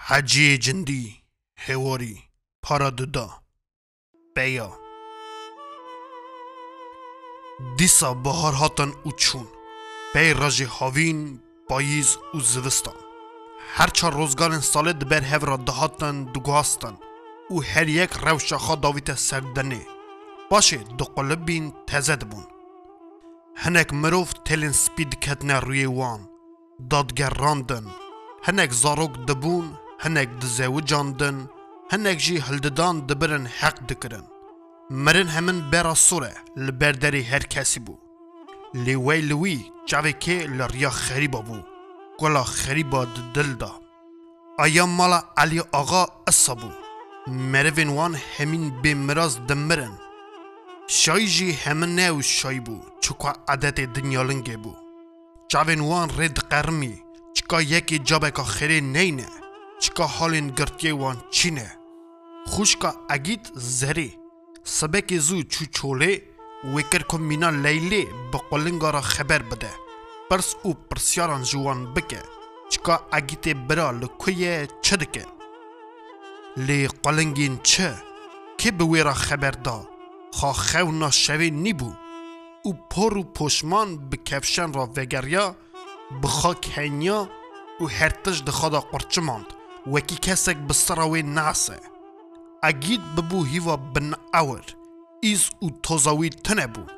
حجی جندی هواری پارا ددا بیا دیسا بهار هاتن او چون بی راجی هاوین پاییز و زوستان هر چه روزگارن ساله دبر هف را دهاتن دگاستن او هر یک روشاخا داویت سردنه باشه دو قلبین تزد بون هنک مروف تلین سپید کتنه روی وان دادگر راندن هنک زاروک دبون هنک دزاو جاندن هنک جی هلددان دبرن حق دکرن مرن همن برا سوره لبردری هر کسی بو لیوی لوی جاوی که لریا خریبا بو گلا خریبا دل دا آیا مالا علی آقا اصا بو مروین وان همین بمراز دمرن شای جی همن نو شای بو چکا عدت دنیالنگه بو جاوین وان رد قرمی چکا یکی جابکا خیره نینه چکا حالین گرتیه وان چینه خوشکا اگید زری سبک زو چو چوله وکر کن مینا لیلی بقلنگا را خبر بده پرس او پرسیاران جوان بکه چکا اگیت برا لکویه چه دکه لی قلنگین چه که بوی را خبر دا خواه خونا شوی نیبو او پر و پشمان بکفشن را وگریا بخوا کنیا و هرتش دخوادا قرچه ماند وکی کسک بسراوی ناسه اگید ببو هیوا بن اور ایز او توزاوی تنه بو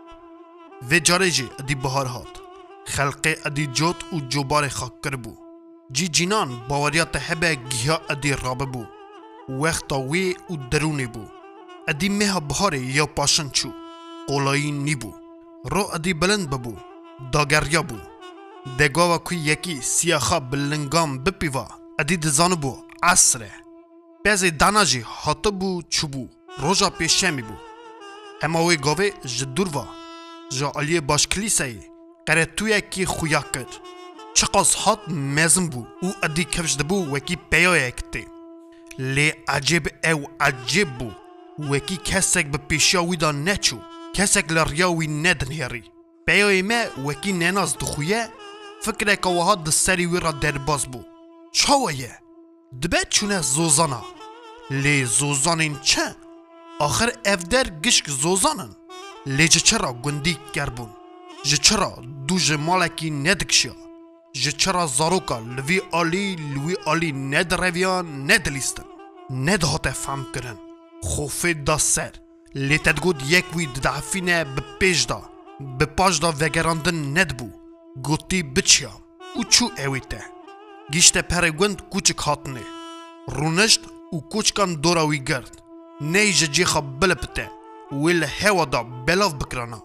و جاره جی ادی بهار هات خلقه ادی جوت او جوبار خاک کر بو جی جینان باوریات هبه گیها ادی رابه بو وقتا وی او درونی بو ادی مها بهاره یا پاشن چو قولایی نی بو رو ادی بلند ببو داگریا بو دگاوا کوی یکی سیاخا بلنگام بپیوا ادی دزانو بو عصره بعضی داناجی هاته بو چوبو روژا پیشمی بو هماوی گاوه جدوروا جا علیه باش کلیسایی قره توی کی خویا کرد چقاس هات مزم بو او ادی کفش دبو وکی پیای اکتی لی عجب او عجب بو وکی کسک به پیشیاوی دا نچو کسک لریاوی ندن هری پیای ما وکی نناز دخویه فکره که وها دستری وی را درباز بو چاویه دبه چونه زوزانا لی زوزانین چه؟ آخر افدر گشک زوزانن لی جه چرا گندی کربون جه چرا دو جه مالکی ندکشیا جه چرا زاروکا لوی آلی ندرویان ندلیستن ندهات فهم کرن خوفه دا سر لی تدگود یک وی دعفینه به پیش دا به پاش دا وگراندن ندبو گوتی بچیام او چو اویته گیشته پرگوند کوچک هاتنه رونشت و کوچکان دوراوی گرد نیجه جیخا بلپته ویل هوا دا بلاف بکرانا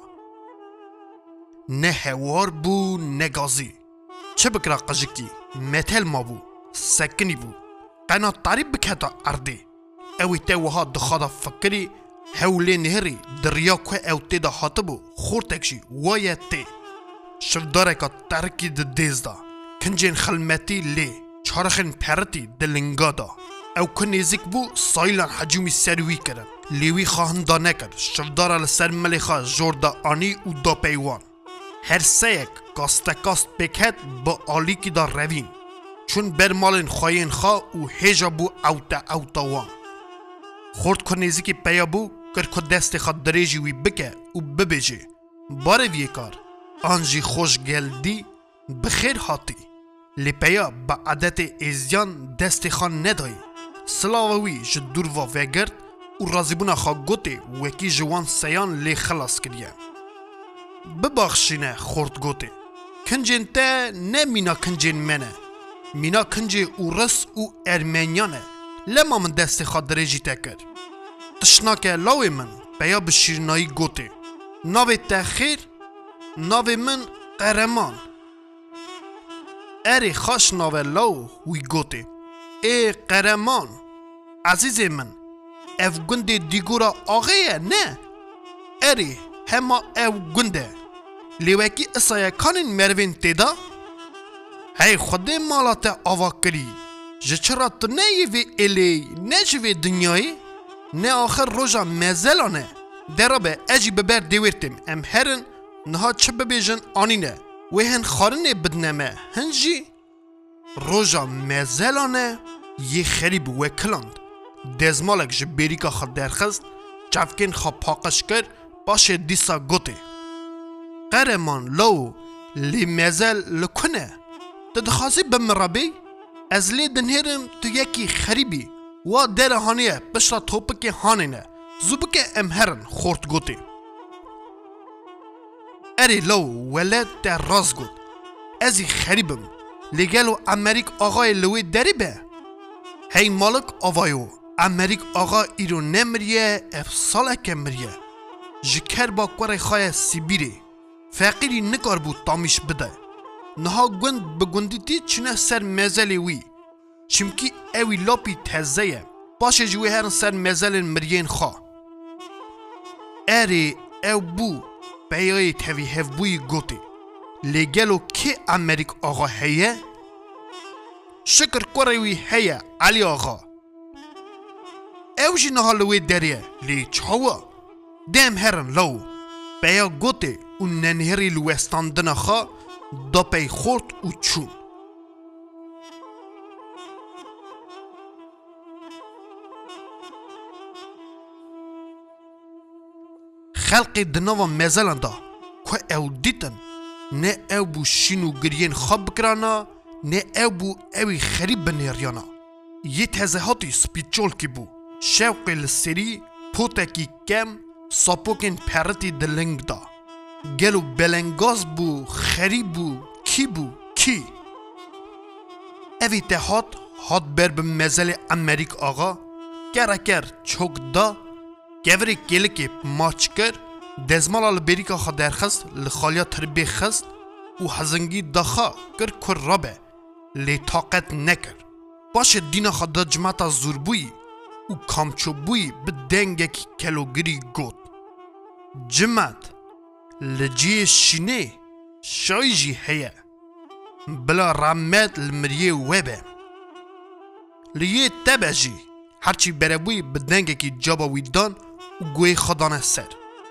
نه هوار بو نه گازی چه بکرا قجکی متل ما بو سکنی بو قنا طریب بکتا اردی اوی تاوها دخادا فکری هولی نهری دریا که او تی دا حاطبو خورتکشی وایه تی شفداره که ترکی د دیز دا کنجین خلمتی لی چارخین پرتی دلنگا دا او که نیزیک بو سایلان حجومی سروی کرن لیوی خواهن دا نکر شفداره لسر ملیخا جور دا آنی و دا پیوان هر سیک کاست بکت با آلی کی دا روین چون برمالین خواهین خواه و هیجا بو اوتا وان خورد که نیزیکی پیا بو کر که دست خواه دریجی وی بکه و ببیجه باره وی کار آنجی خوش گلدی بخیر هاتی لیپیا با عادت ازیان دست خان ندایی سلاوی جدور و وگرد و رازیبونا خواه گوته وکی جوان سیان لی خلاص کریه ببخشینه خورد گوته کنجین تا نه مینا کنجین منه مینا کنجی او رس او ارمنیانه لما من دست خواه دریجی تکر تشناکه لاوی من بیا بشیرنایی گوته ناوی تخیر ناوی من قهرمان اری خوش ناوی لاو وی گوته ای قهرمان عزیز من اف گنده دیگورا آغیه نه اری هما او گنده لیوکی اصایه کانین مروین تیدا هی خوده مالات آوا کری جه چرا تو نه یوی الی نه جوی دنیایی نه آخر روژا مزلانه درابه اجی ببر دیورتیم ام هرن نها چه ببیجن آنینه و هن خارنه بدنمه هنجی روژا مزلانه یه خریب وکلند دزمالک جه بریکا خود درخست چفکین خواه پاقش کرد باشه دیسا گوته قرمان لو لی مزل لکنه تدخواسی بمرابی از لی دنهرم تو یکی خریبی و در هانیه بشرا توپک هانینه زوبک امهرن خورد گوته اری لو ولد در راز گود ازی خریبم لگلو امریک آقای لوی داری به هی مالک آوایو امریک آقا ایرو نمریه افسالک مریه جکر با کور خواهی سیبیری فقیری نکار بود تامیش بده نها گوند بگوندیتی چونه سر مزلی وی چمکی اوی لاپی تزهیه باشه جوی هرن سر مزل مریین خواه اری او بو بیایی تاوی هف بوی گوتی لگلو که امریک آقا هیه شکر کوروی هیه علی آقا او جی نهالوی دریه لی چاوا دم هرن لو بیا گوتی و ننهری لوستاندن خوا دا پی خورد و چون خلق دنوا مزلن دا که او دیتن نه او بو شینو گرین خواب بکرانا نه او بو اوی خریب بنیریانا یه تزهاتی سپیچول کی بو شوق لسری پوتکی کم ساپوکن پرتی دلنگ دا گلو بلنگاز بو خریب بو کی اوی تهات هات بر بمزل امریک آقا کرکر چوک دا گوری گلکی ماچ کر دزمال البریکا خا درخست لخالیا تربی خست و هزنگی دخا کر رابه لی طاقت نکر باشه دینا خا دا جماعتا زور بوی و کامچو بوی به دنگکی کلوگری گود جماعت لجی شینه شایجی هیه بلا رحمت المریه وبه لیه تبجی هرچی بره بوی به دنگکی جابا ویدان و گوی خدانه سر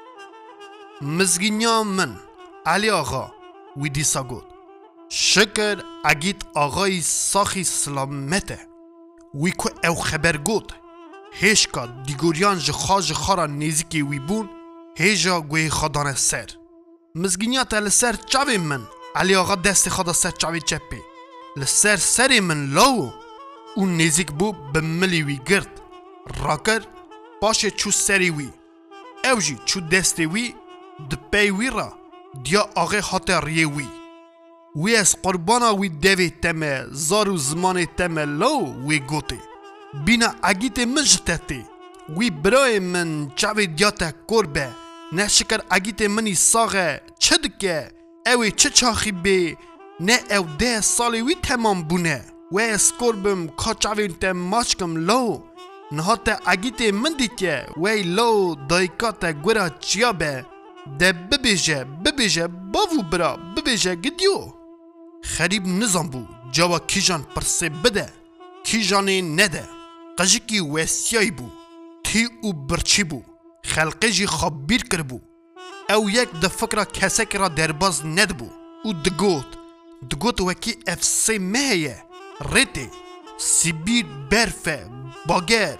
مزگینیا من علی آقا ویدی سا گود شکر اگیت آقای ساخی سلامته وی که او خبر گود هشکا دیگوریان جخا را نیزیکی وی بون هیجا گوی خدانه سر مزگینیا تا لسر چاوی من علی آقا دست خدا سر چاوی چپی لسر سری من لاو اون نیزیک بو بملی وی گرد راکر باشه چو سری وی او جی چو دستی وی دپی وی را دیا آقای خاطر ریه وی از قربانا وی دوی تمه زارو زمان تمه لو وی گوتی بینا اگیت مجتتی وی برای من چاوی دیاتا کربه نه شکر اگیت منی ساغه چه دکه اوی چه چاخی بی نه او 10 سالی وی تمام بونه و از کربم که چاوی تم ماشکم لو نه تا اگیت من دیکه وی لو دایکات گورا چیا به ده ببیجه باوو برا ببیجه گدیو خریب نظام بو جوا کیجان پرسه بده کیجانی نده قجکی وستیای بو تی او برچی بو خلقی جی خبیر کر بو او یک ده فکر کسک را درباز ند بو او دگوت وکی افسی مهیه ریتی سیبیر برفه باگر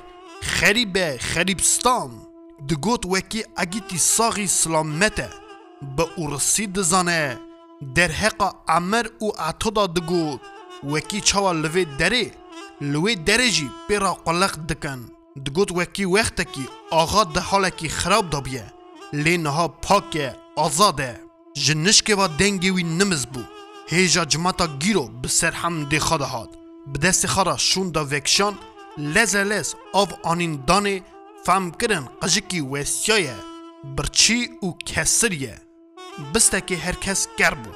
خریبستان دگوت وکی اگیتی ساغی سلامته با ارسی دزانه در حقا عمر او عطودا دگوت وکی چاوا لوی دره جی پیرا قلق دکن دگوت وکی وقت کی آغا ده حاله کی خراب دا بیه لینها پاکه آزاده جنشکه و دنگی وی نمز بو هیجا جماعتا گیرو بسر هم دی خواده هاد بدست خارا شون دا وکشان لز آو آنین دانه فهم کرن قجکی وستیایه برچی و کسریه بسته که هر کس گر بو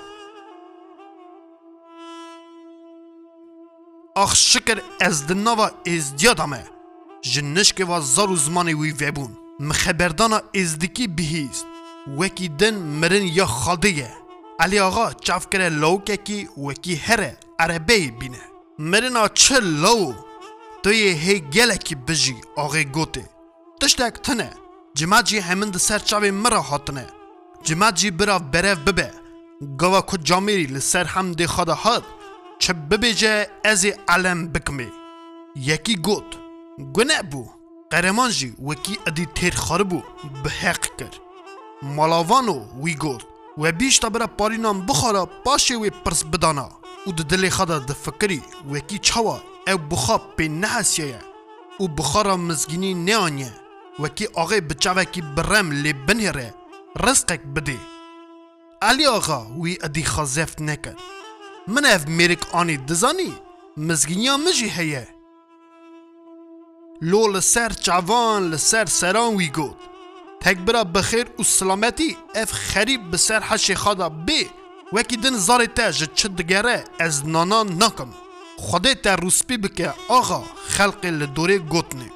آخ شکر از دناوا ازدیادامه جنشکه و زارو زمانی وی ویبون مخبردانا ازدکی بهیست وکی دن مرن یا خالدیه علی آقا چاف کره لوکه کی وکی هره عربه بینه مرنا چه لو توی هی گله کی بجی آقای گوته تشتک تنه جماعت جی همین ده سر چاوی مرا حاتنه جماعت جی برا برف ببه گوا کد جامیری لسر هم ده خدا هاد چه ببیجه ازی علم بکمی یکی گوت گناه بو قهرمان جی وکی ادی تیر خار بو به حق کر مالاوانو وی گوت و بیش تا برا پارینان بخارا باشه وی پرس بدانا و ده دل خدا ده فکری وکی چاوا او بخا پی نحسیه و بخارا مزگینی نیانیه وکی آغای بچاوکی برم لی بنهره رزقک بده علی آقا وی ادی خازفت نکر من اف میرک آنی دزانی مزگینیا مجی هیه لو لسر چاوان لسر سران وی گود تک برا بخیر و سلامتی اف خریب بسر حش خدا بی وکی دن زاری تا جد چد دگره از نانا نکم خدا تا روسپی بکه آقا خلق لدوره گوتنه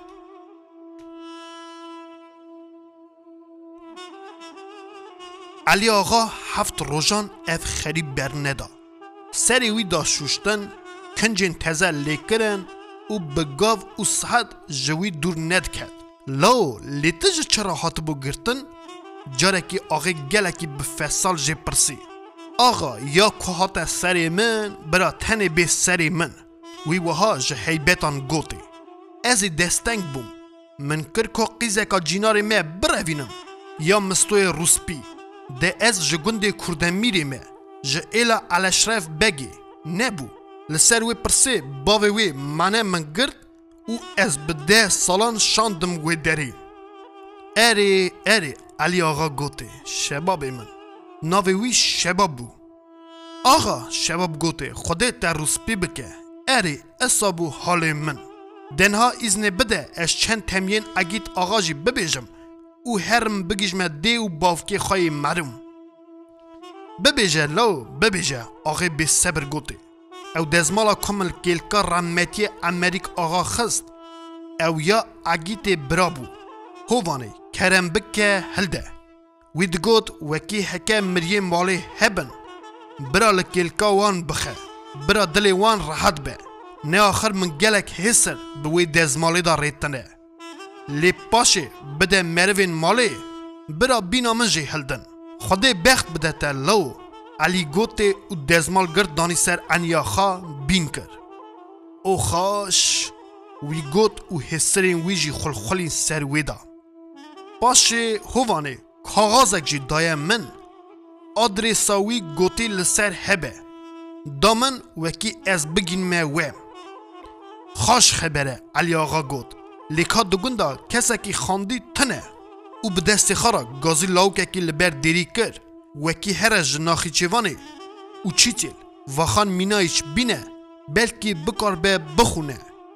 علی آقا هفت روزان اف خریب بر ندا سری وی دا شوشتن کنجین تزه لیکرن و بگاو و صحت جوی دور ند کرد لو لیتج چرا هات بو گرتن جارکی آقا گلکی بفصال جه پرسی آقا یا که هات سری من برا تنه به سری من وی وها جه حیبتان گوتی ازی دستنگ بوم من کر که قیزه که جینار ما بروینم یا مستوی روسپی ده از جگنده کردن میری ما جه ایلا علشرف بگی نبو لسر وی پرسه باوی وی منه من گرد و از بده سالان شاندم وی داری اری علی آقا گوته شباب من ناوی وی شباب بو آقا شباب گوته خوده تا روسپی بکه اری اصابو حال من دنها ازن بده از چند تمین اگیت آقا جی ببیجم او هرم بگیجم دی و باوکی خواهی مرم ببیجه لو ببیجه آقا بی صبر گوته او دزمالا کمل کلکا رحمتی امریک آقا خست او یا اگیت برابو هوانه کرم بکه هلده وید گوت وکی حکه مریم مالی هبن برا لکلکا وان بخه برا دلی وان راحت به نه آخر من گلک حسر بوی دزمالی دا ریتنه لی پاشه بده مروین مالی برا بینا من جی هلدن خوده بخت بده تا لو علی گوته و دزمال گرد دانی سر انیا خوا بین کر او خاش وی گوت و حسرین ویجی خلخلین سر ویدا باشه هوانه کاغازک جی دایم من آدرساوی گوتی لسر هبه دامن وکی از بگین مویم خاش خبره علی آقا گوت لیکا دگوندا کسکی خاندی تنه و به دست خارا گازی لاوککی لبر دیری کر وکی هر جناخی چیوانه و چیتیل وخان مینایش بینه بلکی بکار به بخونه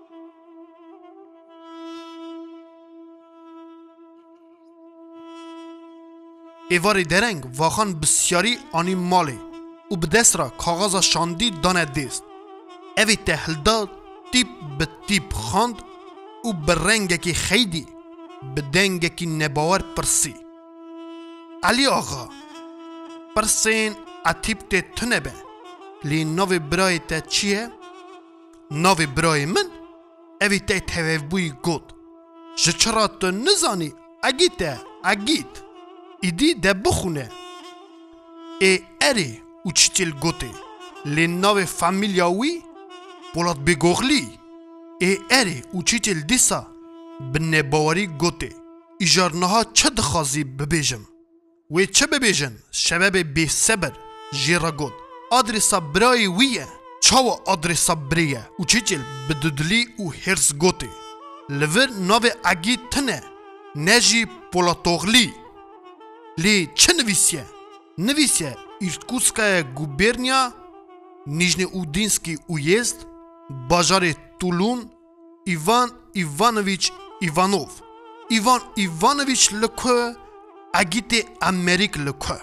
ایواری درنگ واخان بسیاری آنی مالی و به دست را کاغذ شاندی دانه دیست اوی تحلداد تیپ به تیپ خاند و به رنگکی خیدی به دنگکی نباور پرسی علی آقا پرسین اتیب ته تنه به لی نوی برای ته چیه؟ نوی برای من اوی ته تویف بوی گود چرا تو نزانی اگیت ایدی ده بخونه ای اری او چیتیل گوته لی نوی فامیلیاوی بولاد بگوغلی ای اری او چیتیل دیسا بنه باوری گوته ایجارنها چه دخوازی ببیجم وی چه ببیجن شباب بی صبر جیرا گود آدرسا برای ویه چاو آدرسا بریه او چیتیل بدودلی او هرس گوته لور نوی اگی تنه نجی پولاتوغلی لی چه نویسیه؟ نویسیه ایرکوتسکای گوبرنیا نیژنی اودینسکی اویزد باجار تولون ایوان ایوانویچ ایوانوف ایوان ایوانویچ لکو اگیت امریک لکو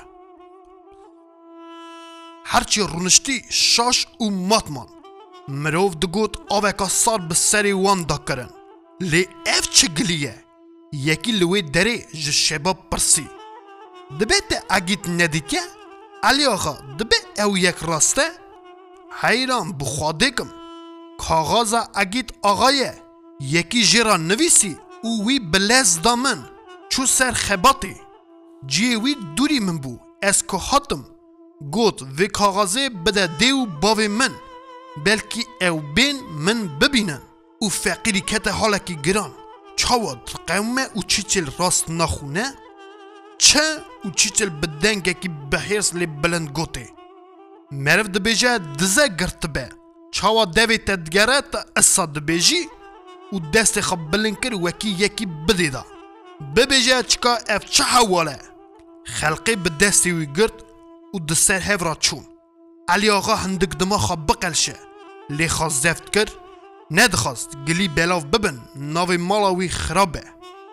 هرچی رونشتی شاش او ماتمان مروف دگوت آوکا سار بسری وان دا کرن لی اف چه گلیه یکی لوی دره جشباب پرسی دبه ته اگیت ندیکه علی آقا دبه او یک راسته حیران بخواده کم کاغازا اگیت آقایه یکی جیرا نویسی او وی بلز دامن چو سر خباتی جی وی دوری من بو از که حتم گوت وی کاغازه بده دیو باوی من بلکی او بین من ببینن و فقیری کت حالکی گران چاود قومه و چیچل راست نخونه چه و چیچل بدنگه کی بحیرس لی بلند گوته مرف دبیجه دزه گرتبه چاوا دوی تدگره تا اصا دبیجی و دست خب بلند کر وکی یکی بدیده ببیجه چکا اف چه حواله خلقی به دستی وی گرد و دسر هفرا چون علی آقا هندک دماغا بقلشه لی خواست زفت کر ندخواست گلی بلاف ببن ناوی مالاوی خرابه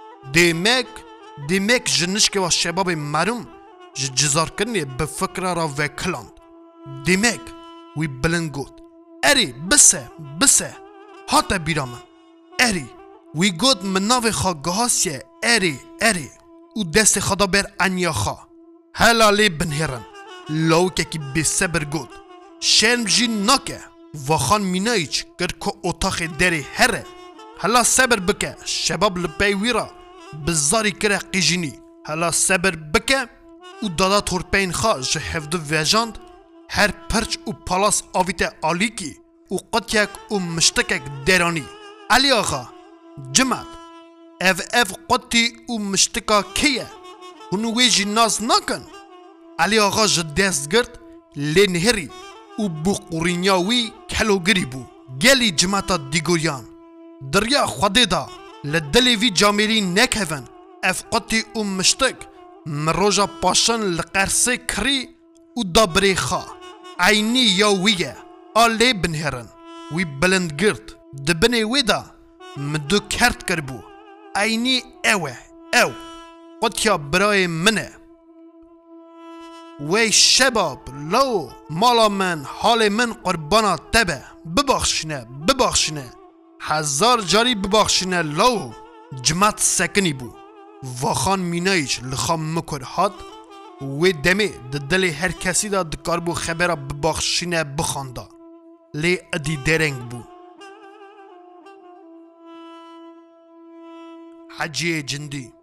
دیمک جنشک و شباب مرم جزار کرنی به فکر را وکلاند دیمک وی بلند گود اری بسه هاتا بیرامن اری وی گود من ناوی خواه گهاسیه اری و دست خدا بر انیا خواه هلا لی بنهرن لاوکه کی بی صبر گود شرم جی ناکه واخان مینایچ گر که اتاق دری هره هلا صبر بکه شباب لپی ویرا بزاری کره قیجینی هلا صبر بکه و دادا تورپین خواه جه هفدو ویجاند هر پرچ و پالاس آویت آلیکی و قطیک و مشتکک درانی علی آقا جمعت اف قطی و مشتکا کیه هنوی جی ناز نکن علی آقا جه دست گرد لی نهری و بو قرینیاوی کلوگری بو گلی جمعتا دیگوریان دریا خوده دا لدلی وی جامیری نکهون اف قطی و مشتک مروجا پاشن لقرسه کری و دابری خواه عینی یا ویه آلی بنهرن وی بلند گرد دبنی وی دا مدو کرد کربو عینی او قطیا برای منه وی شباب لو مالا من حال من قربانا تبه ببخشنه هزار جاری ببخشنه لو جمعت سکنی بو واخان مینایش لخام مکر هاد وی دمه دل هر کسی دا دکار بو خبره ببخشنه بخانده لی ادی درنگ بو حجی جندی